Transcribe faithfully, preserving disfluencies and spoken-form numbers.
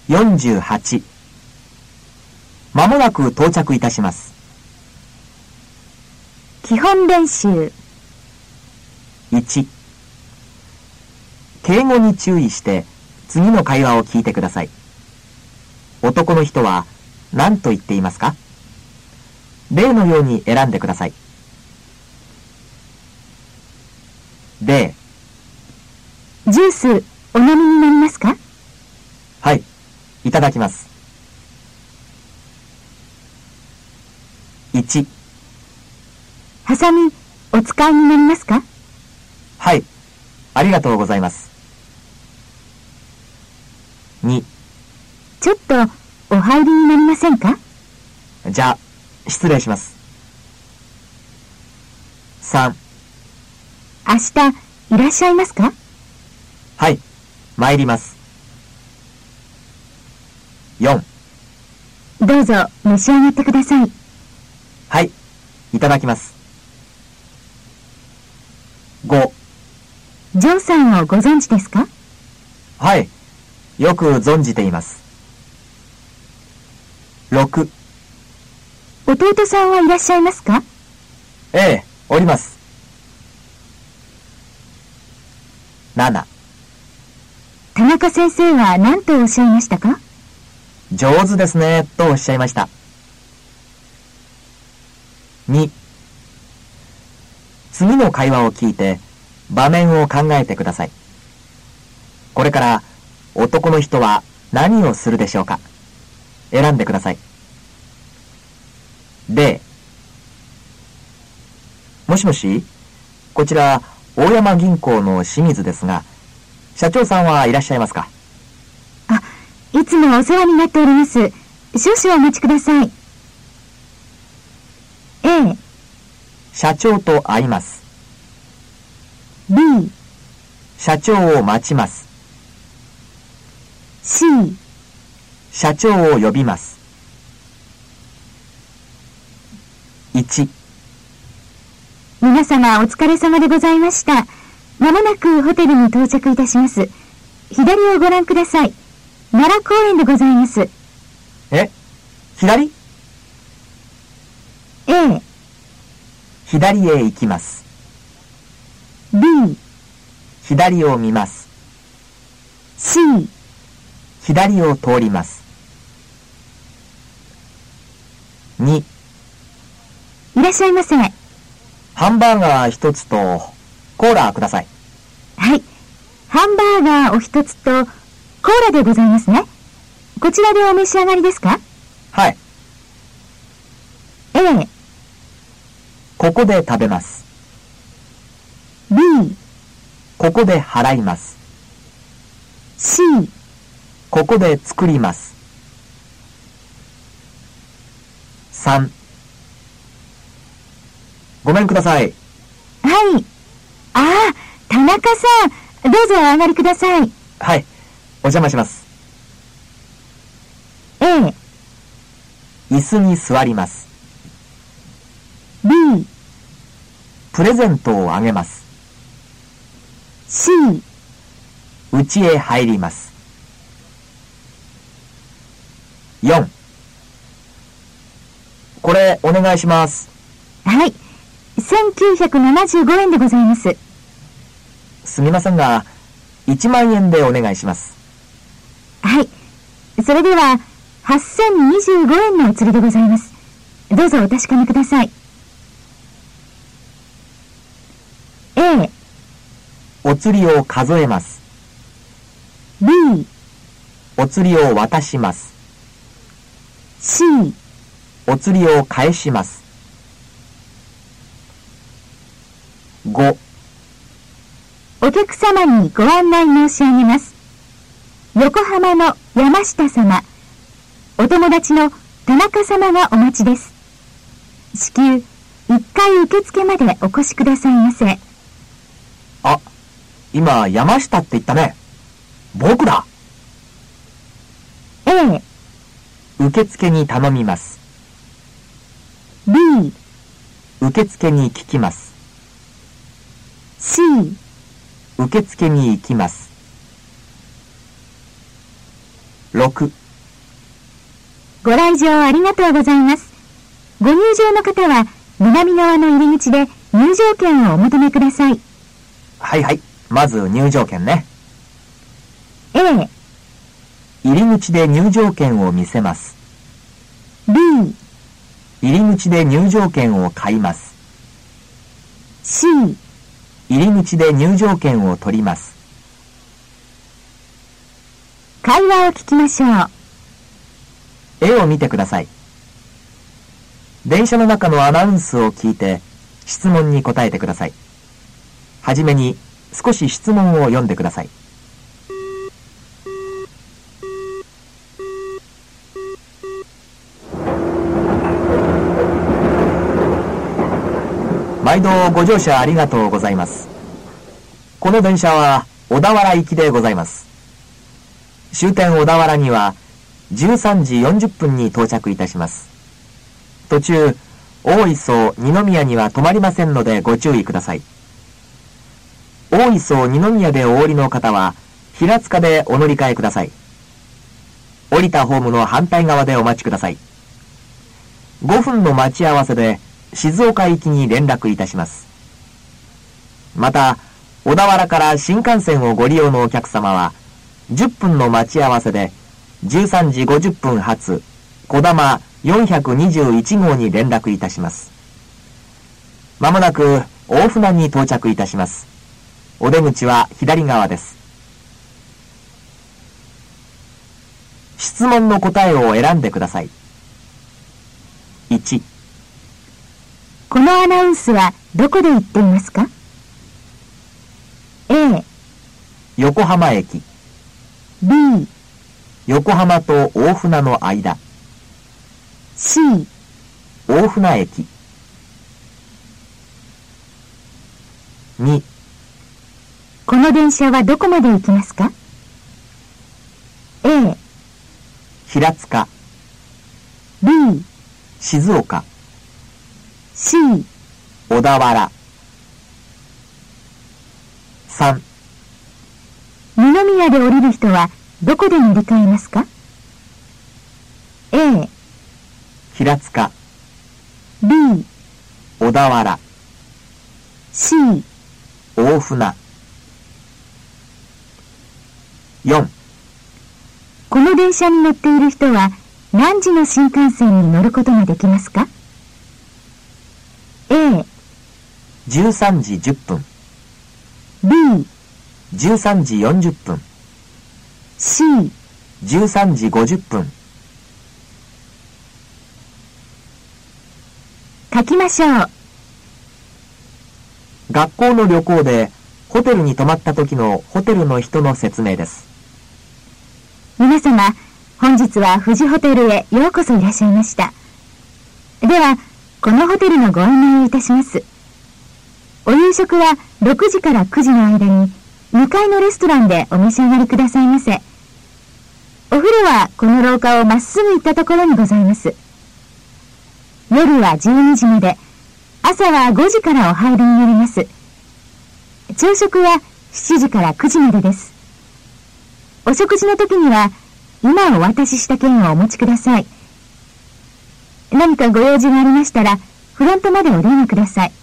よんじゅうはち。まもなく到着いたします。 基本練習。 いち。敬語に注意して次の会話を聞いてください。男の人は何と言っていますか？例のように選んでください。例。 ジュースお飲みになりますか？ はい、いただきます。いち。 ハサミお使いになりますか？ はい、ありがとうございます。に。 ちょっとお入りになりませんか？ じゃあ、失礼します。さん。 明日いらっしゃいますか？ はい、参ります。よん。 どうぞ召し上がってください。 はい、いただきます。ご。 ジョーさんをご存知ですか？ はい、よく存じています。ろく。 弟さんはいらっしゃいますか？ ええ、おります。なな。 田中先生は何とおっしゃいましたか？ 上手ですね、とおっしゃいました。に。次の会話を聞いて場面を考えてください。これから男の人は何をするでしょうか？選んでください。例。もしもし、こちら大山銀行の清水ですが、社長さんはいらっしゃいますか？ あ、いつもお世話になっております。少々お待ちください。A。 社長と会います。 B。 社長を待ちます。 C。 社長を呼びます。いち。 皆様お疲れ様でございました。まもなくホテルに到着いたします。左をご覧ください。奈良公園でございます。 え？左？ A。 左へ行きます。 B。 左を見ます。 C。 左を通ります。に。 いらっしゃいませ。 ハンバーガー一つとコーラください。 はい。ハンバーガーお一つとコーラでございますね。こちらでお召し上がりですか？ はい。 A。 ここで食べます。 B。 ここで払います。 C。 ここで作ります。さん。ごめんください。 はい。ああ、田中さん、どうぞお上がりください。 はい、お邪魔します。 A。 椅子に座ります。 B。 プレゼントをあげます。 C。 家へ入ります。よん。これお願いします。 はい。せんきゅうひゃくななじゅうごえんでございます。 すみませんが、いちまんえんでお願いします。 はい。それでは、はっせんにじゅうごえんのお釣りでございます。どうぞお確かめください。A。 お釣りを数えます。 B。 お釣りを渡します。 C。 お釣りを返します。ご。 お客様にご案内申し上げます。横浜の山下様、お友達の田中様がお待ちです。至急、いっかい受付までお越しくださいませ。 あ、今山下って言ったね。僕だ。 A。 受付に頼みます。 B。 受付に聞きます。 C。 受付に行きます。 ろく。 ご来場ありがとうございます。ご入場の方は南側の入り口で入場券をお求めください。 はいはい。まず入場券ね。 A、 入り口で入場券を見せます。 B、 入り口で入場券を買います。 C、 入り口で入場券を取ります。 会話を聞きましょう。 絵を見てください。電車の中のアナウンスを聞いて質問に答えてください。はじめに少し質問を読んでください。毎度ご乗車ありがとうございます。この電車は小田原行きでございます。終点小田原にはじゅうさんじよんじゅっぷんに到着いたします。途中、大磯二宮には止まりませんのでご注意ください。大磯二宮でお降りの方は平塚でお乗り換えください。降りたホームの反対側でお待ちください。ごふんの待ち合わせで静岡行きに連絡いたします。また、小田原から新幹線をご利用のお客様はじゅっぷんの待ち合わせでじゅうさんじごじゅっぷん発こだまよんひゃくにじゅういちごうに連絡いたします。まもなく大船に到着いたします。お出口は左側です。質問の答えを選んでください。いち、 このアナウンスはどこで言っていますか？ A、 横浜駅。 B、 横浜と大船の間。 C、 大船駅。に、 この電車はどこまで行きますか？ A、 平塚。 B、 静岡。 C、 小田原。さん、 二宮で降りる人はどこで乗り換えますか？ A、 平塚。 B、 小田原。 C、 大船。よん、 この電車に乗っている人は何時の新幹線に乗ることができますか？ A、 じゅうさんじじゅっぷん。 B、 じゅうさんじよんじゅっぷん。 C、 じゅうさんじごじゅっぷん。 書きましょう。 学校の旅行でホテルに泊まった時のホテルの人の説明です。 皆様、本日は富士ホテルへようこそいらっしゃいました。では、このホテルのご案内をいたします。お夕食はろくじからくじの間ににかいのレストランでお召し上がりくださいませ。お風呂はこの廊下をまっすぐ行ったところにございます。夜はじゅうにじまで、朝はごじからお入りになります。朝食はしちじからくじまでです。お食事の時には今お渡しした券をお持ちください。何かご用事がありましたらフロントまでお電話ください。